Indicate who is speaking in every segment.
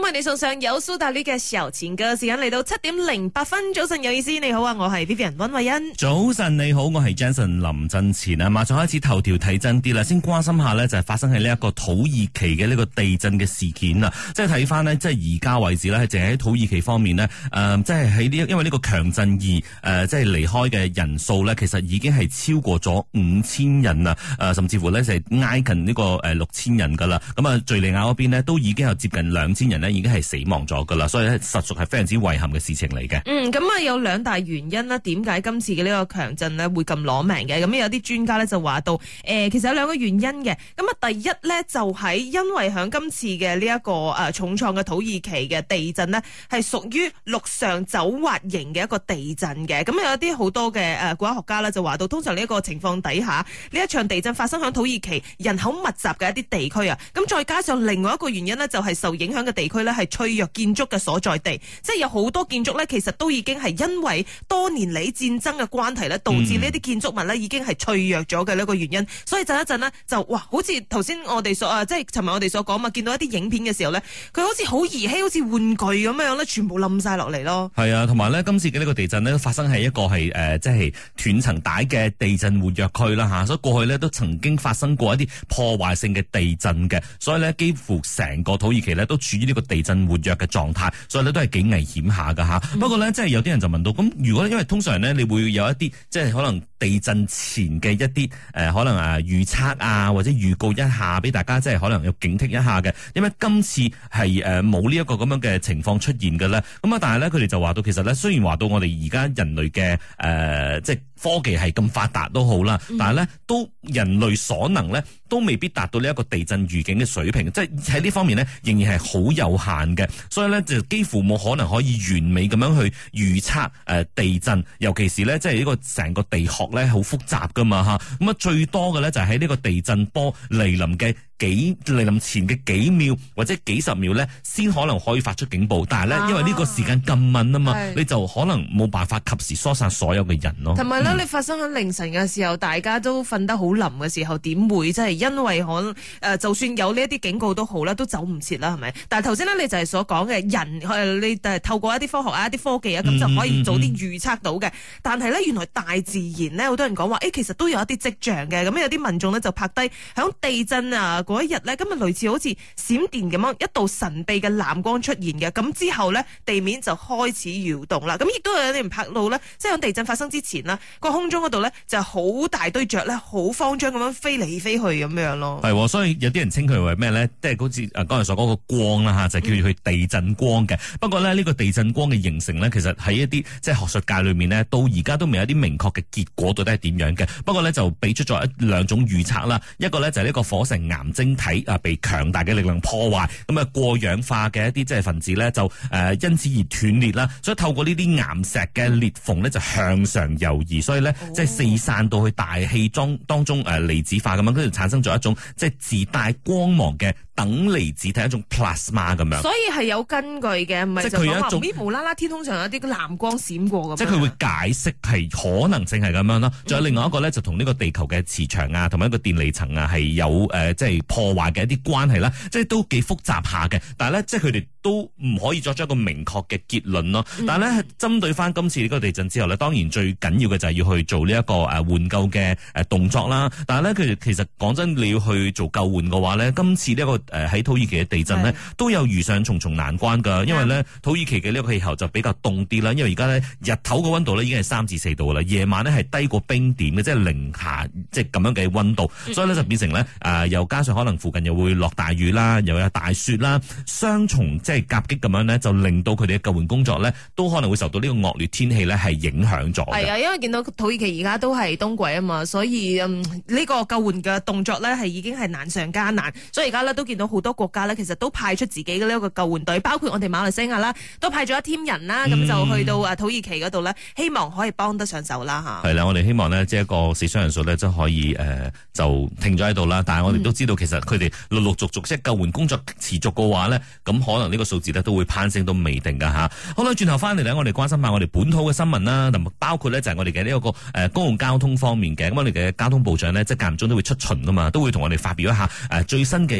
Speaker 1: 為你送上有蘇打綠嘅小情歌，時間嚟到7:08。早晨有意思，你好啊，我係 Vivian 溫慧欣。
Speaker 2: 早晨你好，我係 Jason 林振前啊。馬上開始頭條睇真啲啦，先關心下呢，就係發生喺呢一個土耳其嘅呢個地震嘅事件啊。即係睇翻呢，即係而家為止呢，係淨喺土耳其方面呢，即係喺呢，因為呢個強震而即係離開嘅人數呢，其實已經係超過咗5000人啊。甚至乎呢，就係挨近呢個6000人噶啦。咁啊，敘利亞嗰邊呢，都已經有接近2000人呢，已經係死亡咗噶啦。所以呢，實屬係非常之遺憾嘅事情嚟嘅。
Speaker 1: 咁啊有兩大原因啦，點解今次嘅呢個強震呢會咁攞命嘅？咁有啲專家呢就話到，其實有兩個原因嘅。咁啊，第一呢，就係因為響今次嘅呢一個重創嘅土耳其嘅地震呢，係屬於陸上走滑型嘅一個地震嘅。咁有一啲好多嘅國家學家呢就話到，通常呢一個情況底下，呢一場地震發生響土耳其人口密集嘅一啲地區啊。咁再加上另外一個原因呢，就係受影響嘅地區呢係脆弱建築嘅所在地，即係有好多建築呢，其實都已經係因為多年嚟戰爭嘅關係咧，導致呢啲建築物咧已經係脆弱咗嘅呢個原因。所以震一震呢，就哇，好似頭先我哋所即係尋日我哋所講嘛，見到一啲影片嘅時候咧，佢好似好兒戲，好似玩具咁樣咧，全部冧晒落嚟咯。係
Speaker 2: 啊，同埋咧，今次嘅呢個地震呢，發生喺一個係即係斷層帶嘅地震活躍區啦吓，所以過去呢，都曾經發生過一啲破壞性嘅地震嘅，所以呢，幾乎成個土耳其呢，都處於呢個地震活躍嘅狀態，所以呢，都係幾危險下噶吓。不過呢，即係有啲人就問到，咁如果因為通常呢，你會有一啲即係可能地震前嘅一啲可能預測啊，或者預告一下俾大家，即係可能要警惕一下嘅。因為今次係冇呢一個咁樣嘅情況出現嘅咧，咁啊，但係咧佢哋就話到，其實咧雖然話到我哋而家人類嘅即係科技係咁發達都好啦，但係咧都人類所能咧都未必達到呢一個地震預警嘅水平，即係喺呢方面咧仍然係好有限嘅，所以咧就幾乎冇可能可以完美咁樣去預測地震，尤其是咧即係呢個成個地殼咧好複雜噶嘛吓，咁啊最多嘅咧就係喺呢個地震波嚟臨前嘅幾秒或者幾十秒咧，先可能可以發出警報。但係咧，因為呢個時間咁敏啊嘛，你就可能冇辦法及時疏散所有嘅人咯。同埋咧，
Speaker 1: 你發生喺凌晨嘅時候，大家都瞓得好冧嘅時候，點會即係因為可能就算有呢一啲警告都好啦，都走唔切啦，係咪？但係頭先咧，你就係所講嘅人，你透過一啲科學啊、一啲科技啊，咁就可以早啲預測到嘅。但係咧，原來大自然咧，好多人講話，其實都有一啲跡象嘅。咁有啲民眾咧就拍低響地震啊嗰一日咧，今日類似好似閃電咁樣一道神秘嘅藍光出現嘅，咁之後咧地面就開始搖動啦。咁亦都有啲人拍到咧，即係響地震發生之前啦，個空中嗰度咧就好大堆雀咧，好慌張咁樣飛嚟飛去咁樣咯。
Speaker 2: 係，所以有啲人稱佢為咩咧？即係好似剛才所講個光啦吓，就叫佢地震光嘅。不過咧呢個地震光嘅形成咧，其實喺一啲即係學術界裏面咧，到而家都未有啲明確嘅結果到底係點樣嘅。不過咧就俾出咗兩種預測啦，一個咧就係呢個火成岩晶體被強大嘅力量破壞，咁啊過氧化嘅一啲即係分子咧就因此而斷裂啦，所以透過呢啲岩石嘅裂縫咧就向上游移，所以咧即係四散到去大氣當中離子化咁樣，跟住產生咗一種即係自帶光芒嘅等離子體，一種 plasma 咁樣。
Speaker 1: 所以係有根據嘅，唔係就講話邊無啦啦天空上有啲藍光閃過咁。
Speaker 2: 即係佢會解釋係可能性係咁樣咯。仲有另外一個咧，就同呢個地球嘅磁場啊，同埋一個電離層啊係有即係破壞嘅一啲關係啦，即係都幾複雜下嘅。但係咧，即係佢哋都唔可以作出一個明確嘅結論咯。但係咧，針對翻今次呢個地震之後咧，當然最緊要嘅就係要去做呢一個援救嘅動作啦。但係咧，佢哋其實講真，你要去做救援嘅話咧，今次呢一個喺土耳其嘅地震咧，都有遇上重重難關㗎。因為咧，土耳其嘅呢個氣候就比較凍啲啦。因為而家咧日頭嘅溫度咧已經係3至4度啦，夜晚咧係低過冰點嘅，即係零下即係咁樣嘅溫度，所以咧就變成咧又加上可能附近又會落大雨啦，又有大雪啦，雙重即係夾擊咁樣咧，就令到佢哋嘅救援工作咧都可能會受到呢個惡劣天氣咧係影響咗。係啊，
Speaker 1: 因為見到土耳其而家都係冬季啊嘛，所以呢個救援嘅動作咧係已經係難上加難，所以而家咧都見到好多國家咧其實都派出自己嘅呢一個救援隊，包括我哋馬來西亞啦，都派咗一 team 人啦，咁就去到土耳其嗰度咧，希望可以幫得上手啦嚇。
Speaker 2: 係啦，我哋希望呢，即係一個死傷人數咧，即係可以就停咗喺度啦。但係我哋都知道，其實佢哋陸陸續續即係救援工作持續嘅話咧，咁可能呢個數字咧都會攀升都未定噶嚇。好啦，轉頭翻嚟咧，我哋關心下我哋本土嘅新聞啦，同包括咧就係我哋嘅呢一個公共交通方面嘅。咁我哋嘅交通部長呢，即係間唔中都會出巡噶嘛，都會同我哋發表一下最新嘅一啲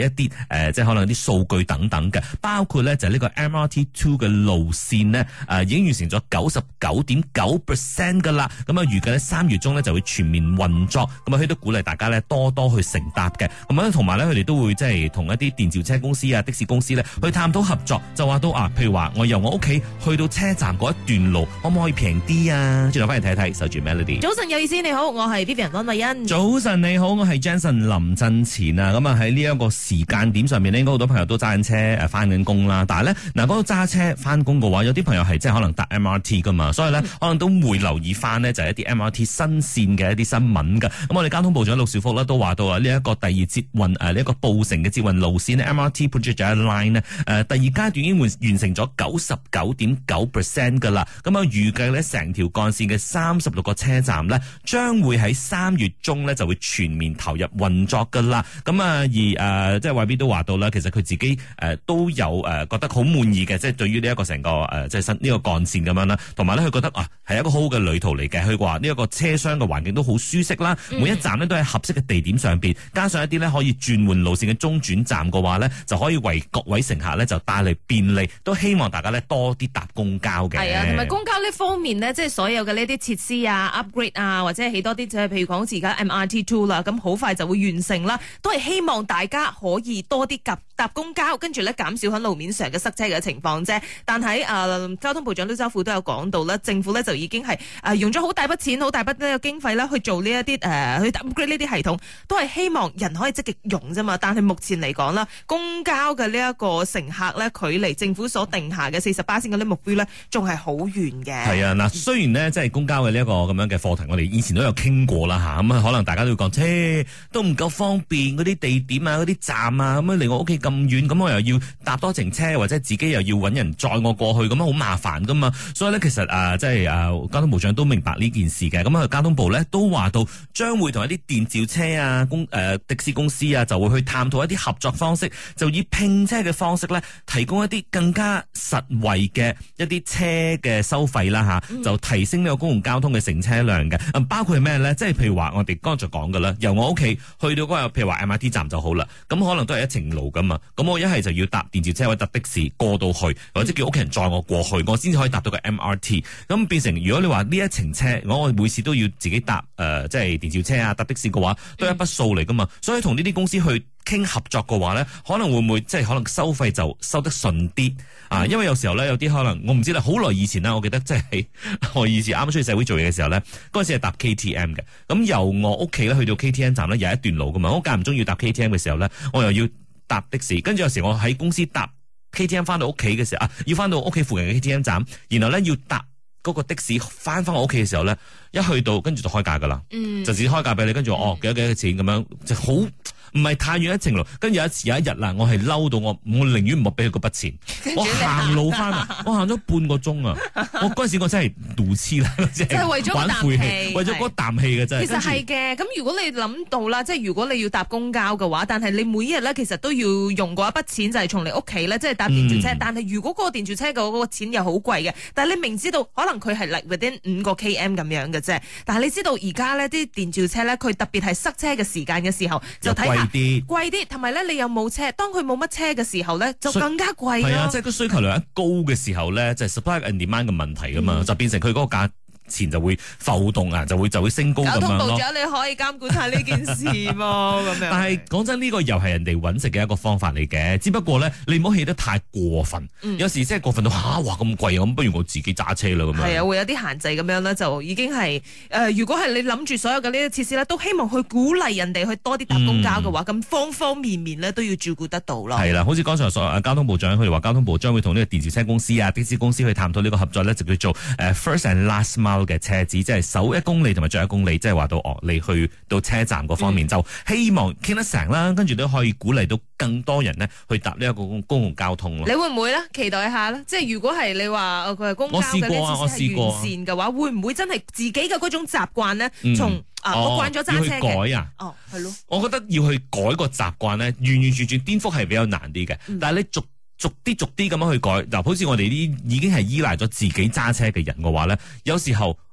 Speaker 2: 即係可能啲數據等等嘅，包括咧就係呢個 MRT2 嘅路線呢，已經完成咗99.9% 噶啦。咁啊預計咧3月中咧就會全面運作。咁啊佢都鼓勵大家咧多多去乘搭嘅。咁啊同埋咧佢哋都會即係同一啲電召車公司啊、的士公司咧去探討合作，就話到譬如話我由我屋企去到車站嗰一段路，可唔可以平啲啊？轉頭翻嚟睇睇，守住 Melody。
Speaker 1: 早晨有意思，你好，我係 Vivian 溫慧欣。
Speaker 2: 早晨你好，我係 Jensen 林振前啊。咁啊喺呢一個時間點上面咧，應該好多朋友都揸緊車翻緊工啦。但係咧嗱，嗰個揸車翻工嘅話，有啲朋友係即係可能搭 MRT 噶嘛，所以咧可能都會留意翻呢，就係一啲 MRT 新線嘅一啲新聞噶。咁我哋交通部長陸兆福咧都話到啊，呢一個第二捷運呢一個布城嘅捷運路線 MRT Project Line 呢，第二階段已經完成咗99.9% 噶啦。咁啊預計咧成條幹線嘅36個車站呢，將會喺3月中呢就會全面投入運作噶啦。咁啊而即係外邊都話到啦，其實佢自己都有覺得好滿意嘅，即係對於呢一個成個即係新呢個幹線咁樣啦。同埋咧佢覺得係一個好好嘅旅途嚟嘅。佢話呢一個車廂嘅環境都好舒適啦，每一站呢都喺合適嘅地點上邊，加上一啲呢可以轉換路線嘅中轉站嘅話呢，就可以為各位乘客呢就帶嚟便利。都希望大家呢多啲搭公交嘅。係啊，同埋
Speaker 1: 公交呢方面呢，即係所有嘅呢啲設施啊、upgrade 啊，或者係起多啲，即係譬如講好似而家 MRT2 啦，咁好快就會完成啦。都係希望大家可以多啲搭公交，跟住咧減少喺路面上嘅塞車嘅情況啫。但喺交通部長陸兆福都有講到啦，政府咧就已經係用咗好大筆錢、好大筆呢個經費啦，去做呢一啲去 upgrade 呢啲系統，都係希望人可以積極用啫嘛。但係目前嚟講啦，公交嘅呢一個乘客咧，距離政府所定下嘅48%嗰啲目標咧，仲係好遠嘅。係啊，嗱，雖然呢，即係公交嘅呢一個咁樣嘅課題，我哋以前都有傾過啦嚇。咁可能大家都會講，都唔夠方便嗰啲地點啊、嗰啲站啊，咁樣離我屋企咁遠，咁我又要搭多程車，或者自己又要揾人載我過去，咁樣好麻煩噶嘛。所以咧，其實即係交通部長都明白呢件事嘅。咁交通部咧都話到，將會同一啲電召車啊、的士公司啊，就會去探討一啲合作方式，就以拼車嘅方式咧，提供一啲更加實惠嘅一啲車嘅收費啦嚇，就提升呢個公共交通嘅乘車量嘅。包括係咩咧？即係譬如話我哋剛才講嘅啦，由我屋企去到嗰個譬如話 MRT 站就好啦，咁可能都係一程路噶嘛。咁我一係就要搭電召車或者搭的士過到去，或者叫屋企人載我過去，我先至可以搭到個 MRT。咁變成如果你話呢一程車，我每次都要自己搭即係電召車啊、搭的士嘅話，都係一筆數嚟噶嘛。所以同呢啲公司去傾合作嘅話咧，可能會唔會即係可能收費就收得順啲啊？因為有時候咧，有啲可能我唔知啦，好耐以前啦，我記得即係我以前啱啱出去社會做嘢嘅時候咧，嗰陣時係搭 KTM 嘅。咁由我屋企咧去到 KTM 站咧有一段路噶嘛，我間唔中要搭 KTM 嘅時候咧，我又要搭的士，跟住有時我喺公司搭 KTM 翻到屋企嘅時候要翻到屋企附近嘅 KTM 站，然後咧要搭嗰個的士翻我屋企嘅時候咧，一去到跟住就開價噶啦，就自己開價俾你，跟住幾多錢咁樣，就好唔係太遠一程路。跟住有一日啦，我係嬲到我寧願唔好俾佢嗰筆錢，我行路翻啊，我行咗半個鐘啊，我嗰陣時我真係怒痴啦，即係為咗嗰啖氣，為咗嗰啖氣嘅真係。其實係嘅，咁如果你諗到啦，即係如果你要搭公交嘅話，但係你每一日咧其實都要用嗰一筆錢，就係從你屋企咧即係搭電召車。但係如果嗰個電召車嘅嗰個錢又好貴嘅，但係你明知道可能佢係 within 5個 km 咁樣嘅啫，但係你知道而家呢啲電召車咧，佢特別係塞車嘅時間嘅時候，就睇下貴啲，同埋咧你又冇車，當佢冇乜車嘅時候咧，就更加貴咯。係啊，即係個需求量一高嘅時候咧，就係 supply and demand 嘅問題噶嘛，就變成佢嗰個價錢就會浮動啊，就會升高咁樣咯。交通部長你可以監管下呢件事喎，咁樣。但係講真，呢個又係人哋揾食嘅一個方法嚟嘅，只不過咧你唔好起得太過分。有時即係過分到哇咁貴，咁不如我自己揸車啦咁樣。係啊，會有啲限制咁樣咧，就已經係如果係你諗住所有嘅呢啲設施咧，都希望去鼓勵人哋去多啲搭公交嘅話，咁方方面面咧都要照顧得到咯。係啦，好似剛才交通部長佢哋話，交通部將會同呢個電召車公司啊、的士公司去探討呢個合作咧，就叫做first and last mile嘅車子，即係首1公里同埋最後1公里，即係話到你去到車站嗰方面，就希望傾得成啦，跟住都可以鼓勵到更多人呢去搭呢一個公共交通咯。你會唔會咧？期待一下咧？即係如果係你話佢係公交嘅呢啲設施係完善嘅話，會唔會真係自己嘅嗰種習慣呢？從我慣咗揸車嘅，改啊，係咯。我覺得要去改個習慣呢，完完全全顛覆係比較難啲嘅。但係你逐啲咁樣去改，嗱，好似我哋啲已經係依賴咗自己揸車嘅人嘅話咧，有時候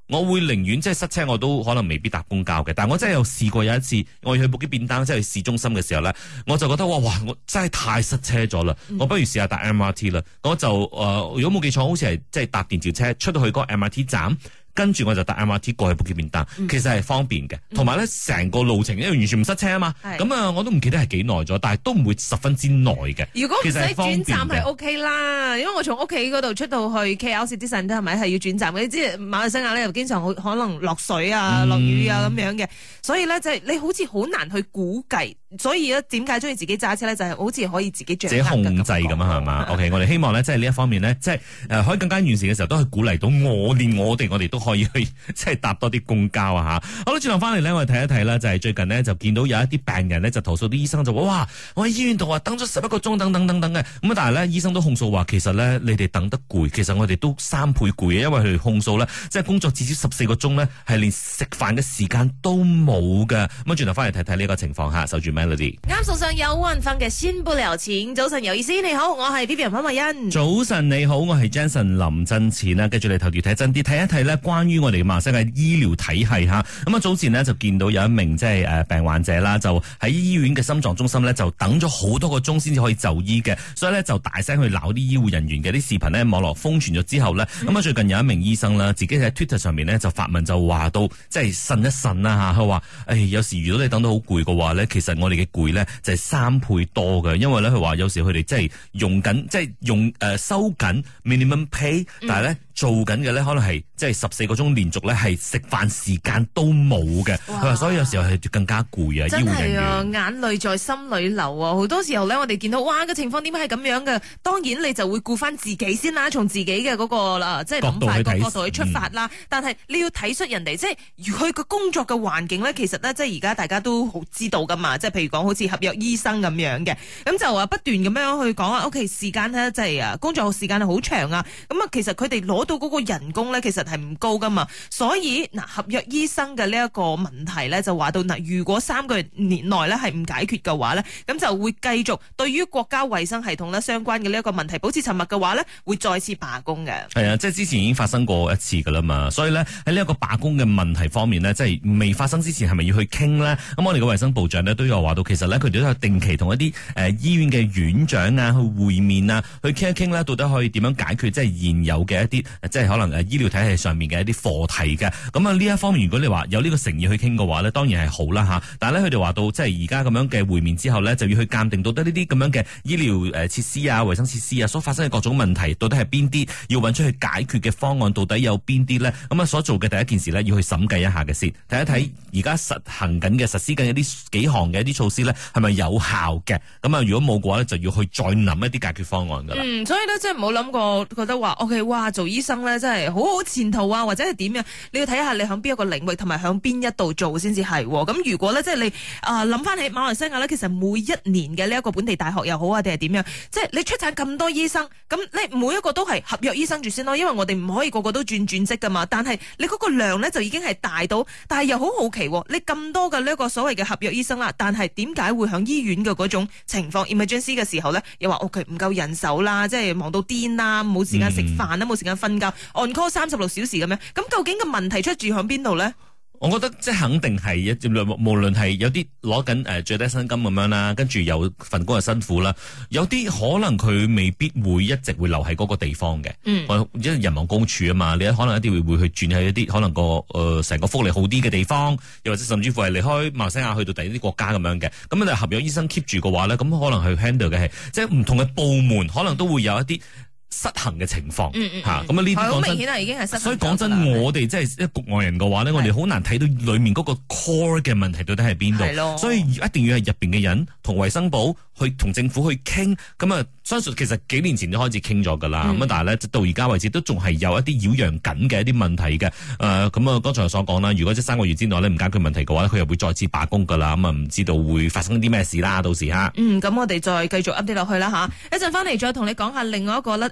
Speaker 2: 我會寧願即係塞車，我都可能未必搭公交嘅。但係我真係有試過有一次，我要去布基便當，即係去市中心嘅時候咧，我就覺得哇，我真係太塞車咗啦！我不如試下搭 MRT 啦。我就如果冇記錯，好似係即係搭電召車出到去嗰個 MRT 站。跟住我就搭 MRT 過去布基便當，其實係方便嘅，同埋咧成個路程因為完全唔塞車啊嘛，咁我都唔記得係幾耐咗，但係都唔會十分之耐嘅。
Speaker 1: 如果唔使轉站係 OK 啦，因為我從屋企嗰度出到去 KL City Centre係咪係要轉站嘅？你知馬來西亞咧又經常可能落水啊、落雨啊咁樣嘅，所以咧就係你好似好難去估計。所以咧，點解中意自己揸車咧？就係、是、好似可以自己掌握、
Speaker 2: 自己控制咁啊，係嘛？OK， 我哋希望咧，即係呢一方面咧，即係可以更加完善嘅時候，都可以鼓勵到連我哋都可以去即係搭多啲公交啊嚇。好啦，轉頭翻嚟咧，我哋睇一睇啦，就係、是、最近呢，就見到有一啲病人咧就投訴啲醫生就話：哇，我喺醫院度啊等咗11個鐘等嘅。咁但係咧醫生都控訴話，其實咧你哋等得攰，其實我哋都3倍攰嘅，因為佢哋控訴咧，即係工作至少14個鐘咧，係連食飯嘅時間都冇嘅。咁啊，轉頭翻嚟睇睇呢個情況嚇，守住 Melody。
Speaker 1: 啱有運分嘅先不了錢，早晨有意思，你好，我係 Vivian 潘慧欣。
Speaker 2: 早晨你好，我係 Jensen 林振前啦。跟住你頭條睇真啲，睇一睇呢關於我哋馬來西亞醫療體系吓。咁啊早前呢，就見到有一名即係病患者啦，就喺醫院嘅心臟中心呢，就等咗好多個鐘先至可以就醫嘅，所以呢，就大聲去鬧啲醫護人員嘅啲視頻呢，網絡瘋傳咗之後呢，咁啊最近有一名醫生啦，自己喺 Twitter 上面呢，就發文就話到，即係呻一呻啦吓，佢話有時如果你等到好攰嘅話呢，其實我哋嘅攰呢。就係3倍多嘅，因為咧佢話有時佢哋即係用緊，即係用收緊 minimum pay，但係咧做緊嘅咧可能係即係14個鐘連續咧係食飯時間都冇嘅，佢話所以有時候係更加攰啊，醫護人員
Speaker 1: 眼淚在心裏流啊！好多時候咧，我哋見到哇個情況點解係咁樣嘅？當然你就會顧翻自己先啦，從自己嘅嗰個啦，即係諗法個角度去出發啦。但係你要體恤人哋，即係佢個工作嘅環境咧，其實咧即係而家大家都好知道噶嘛，即係譬如講好似合約醫生咁樣嘅，咁就話不斷咁樣去講啊 ，OK 時間咧即係工作時間係好長啊，咁啊其實佢哋攞到嗰個人工咧其實係唔高噶嘛，所以嗱合約醫生嘅呢一個問題咧就話到嗱，如果3個月年內咧係唔解決嘅話咧，咁就會繼續對於國家衛生系統咧相關嘅呢一個問題保持沉默嘅話咧，會再次罷工嘅。係
Speaker 2: 啊，即係之前已經發生過一次噶啦嘛，所以咧喺呢一個罷工嘅問題方面呢，即係未發生之前係咪要去傾呢？咁我哋嘅衛生部長呢，都有話到，其實呢，佢哋都有定期同一啲醫院嘅院長啊去會面啊，去傾一傾呢，到底可以點樣解決即係現有嘅一啲即係可能醫療體系上面嘅一啲課題嘅。咁啊呢一方面，如果你話有呢個誠意去傾嘅話呢，當然係好啦吓。但係咧佢哋話到，即係而家咁樣嘅會面之後呢，就要去鑑定到底呢啲咁樣嘅醫療設施啊、衛生設施啊所發生嘅各種問題，到底係邊啲要揾出去解決嘅方案，到底有邊啲呢？咁啊所做嘅第一件事呢，要去審計一下嘅先，睇一睇而家實行緊嘅實施緊一啲幾項嘅一啲措施呢，係咪有效嘅？咁啊如果冇嘅話呢，就要去再諗一啲解決方案噶啦。
Speaker 1: 所以呢，即係唔好諗過覺得話 OK， 哇做醫生呢，真係好好前途啊，或者係點樣？你要睇下你響邊一個領域同埋響邊一度做先至係。咁如果呢，即係你諗翻起馬來西亞呢，其實每一年嘅呢一個本地大學又好啊，定係點樣？即係你出產咁多醫生，咁你每一個都係合約醫生住先咯，因為我哋唔可以個個都轉職噶嘛。但係你嗰個量呢，就已經係大到，但係又好好奇，你咁多嘅呢一個所謂嘅合約醫生啦，但係點解會響醫院嘅嗰種情況 emergency 嘅時候呢，又話 OK 唔夠人手啦，即係忙到癲啦，冇時間食飯啦，冇時間瞓覺 on call 36小時咁樣，咁究竟個問題出住響邊度呢？
Speaker 2: 我覺得即係肯定係無論係有啲攞緊最低薪金咁樣啦，跟住有份工又辛苦啦，有啲可能佢未必會一直會留喺嗰個地方嘅。因為人亡公署啊嘛，你可能一定會去轉去一啲可能個成個福利好啲嘅地方，又或者甚至乎係離開馬來西亞去到第二啲國家咁樣嘅。咁你合約醫生 keep 住嘅話咧，咁可能去 handle 嘅係即係唔同嘅部門，可能都會有一啲失衡嘅情況吓，咁啊呢啲
Speaker 1: 好明顯係已經係失衡。
Speaker 2: 所以講真，我哋即係一局外人嘅話咧，我哋好難睇到裏面嗰個 core 嘅問題到底係邊度。所以一定要係入邊嘅人同衛生部去同政府去傾。咁啊，相信其實幾年前就開始傾咗噶啦。咁但係咧到而家為止都仲係有一啲擾攘緊嘅一啲問題嘅。咁啊，剛才所講啦，如果即係3個月之內咧唔解決問題嘅話，佢又會再次罷工噶啦。咁啊，唔知道會發生啲咩事啦，到時吓。咁
Speaker 1: 我哋再繼續 update 落去啦吓。一陣翻嚟再同你講下另外一個咧。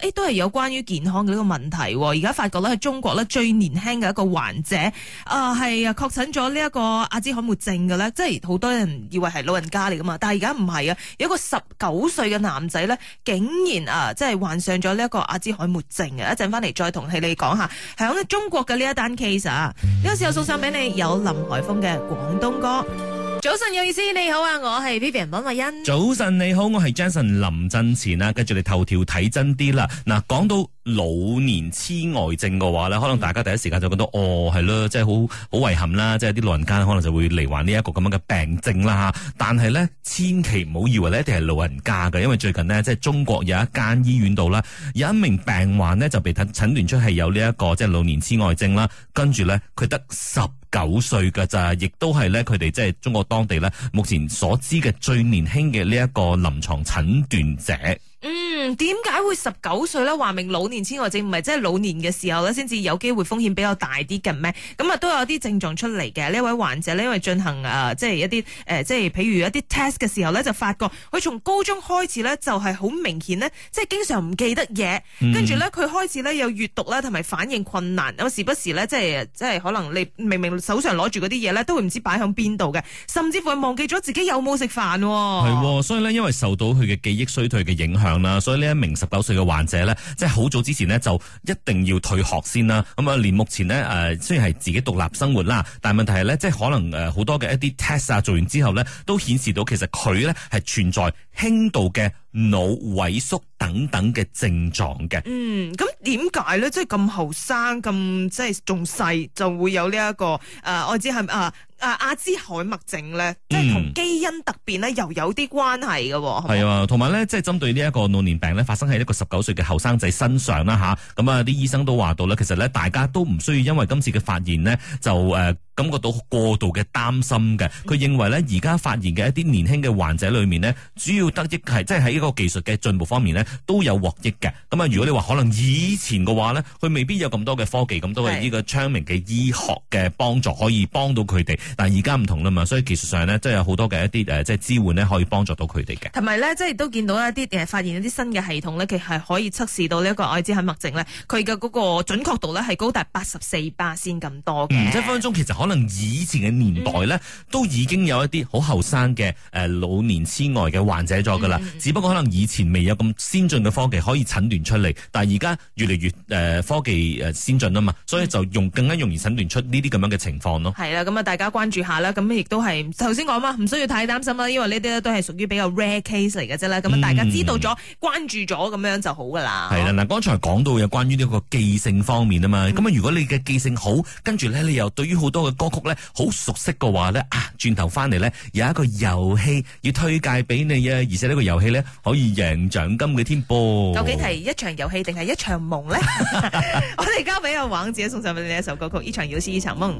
Speaker 1: 都係有關於健康嘅呢個問題。而家發覺咧，喺中國咧最年輕嘅一個患者係確診咗呢一個阿茲海默症嘅咧，即係好多人以為係老人家嚟噶嘛，但係而家唔係啊，有一個19歲嘅男仔咧，竟然即係患上咗呢一個阿茲海默症啊！一陣翻嚟再同你講下，響中國嘅呢一單 case 啊，呢個時候送上俾你有林海峰嘅廣東歌。早晨有意思，你好啊，我係 Vivian 溫慧欣。
Speaker 2: 早晨你好，我係 Jason 林振前啊。跟住你頭條睇真啲啦。嗱，講到老年痴呆症嘅話咧，可能大家第一時間就覺得係咯，即係好遺憾啦，即係啲老人家可能就會罹患呢一個咁樣嘅病症啦吓。但係咧，千祈唔好以為咧一定係老人家嘅，因為最近呢，即係中國有一間醫院度啦，有一名病患呢就被診斷出係有呢一個即係老年痴呆症啦。跟住咧，佢得19歲㗎咋，亦都係咧佢哋即係中國當地咧目前所知嘅最年輕嘅呢一個臨床診斷者。
Speaker 1: 點解會19歲咧？話明老年痴呆症唔係即係老年嘅時候咧，先至有機會風險比較大啲嘅咩？咁啊都有啲症狀出嚟嘅。呢位患者咧，因為進行即係一啲即係譬如一啲 test 嘅時候咧，就發覺佢從高中開始咧就係好明顯咧，即係經常唔記得嘢，跟住咧佢開始咧有閱讀啦同埋反應困難，有時不時咧即係可能你明明手上攞住嗰啲嘢咧，都會唔知擺響邊度嘅，甚至乎係忘記咗自己有冇食飯。
Speaker 2: 係，所以咧因為受到佢嘅記憶衰退嘅影響啦，所以呢一名19歲嘅患者咧，即係好早之前呢，就一定要退學先啦。咁啊，連目前呢，雖然係自己獨立生活啦，但係問題係咧，即係可能好多嘅一啲 test 啊做完之後咧，都顯示到其實佢咧係存在輕度嘅腦萎縮等等嘅症狀嘅。
Speaker 1: 咁點解咧？即係咁後生，咁即係仲細就會有呢一個我知係阿茲海默症咧，即係同基因突變咧又有啲關係嘅。
Speaker 2: 係啊，同埋咧，即係針對呢一個老年病咧，發生喺一個19歲嘅後生仔身上啦吓。咁啊，啲醫生都話到咧，其實咧，大家都唔需要因為今次嘅發現呢，就感覺到過度嘅擔心嘅。佢認為咧，而家發現嘅一啲年輕嘅患者裏面呢，主要得益係即係喺一個技術嘅進步方面呢，都有獲益嘅。咁啊，如果你話可能以前嘅話呢，佢未必有咁多嘅科技，咁多嘅呢個昌明嘅醫學嘅幫助可以幫到佢哋。但係而家唔同啦嘛，所以技術上呢，即係有好多嘅一啲即係支援呢，可以幫助到佢哋嘅。同
Speaker 1: 埋咧，即係都見到一啲發現一啲新嘅系統咧，其實係可以測試到呢一個阿茲海默症咧，佢嘅嗰個準確度咧係高達84%咁多嘅。
Speaker 2: 即係分分鐘其實可能以前嘅年代咧，都已經有一啲好後生嘅老年痴呆嘅患者咗噶啦。只不過可能以前未有咁先進嘅科技可以診斷出嚟，但係而家越嚟越科技先進啊嘛，所以就更加容易診斷出呢啲咁樣嘅情況咯。
Speaker 1: 係啦，咁啊大家關注下啦，咁亦都係頭先講嘛，唔需要太擔心啦，因為呢啲都係屬於比較 rare case 嚟嘅啫啦。咁大家知道咗、關注咗咁樣就好噶啦。
Speaker 2: 係啦，嗱，剛才講到有關於呢個記性方面啊嘛，咁啊如果你嘅記性好，跟住咧你又對於好多嘅歌曲咧好熟悉嘅話咧，轉頭翻嚟咧有一個遊戲要推介俾你啊，而且呢個遊戲咧可以贏獎金嘅添噃。
Speaker 1: 究竟係一場遊戲定係一場夢咧？我哋交俾阿王自己送上俾你一首歌曲《一場遊戲一場夢》。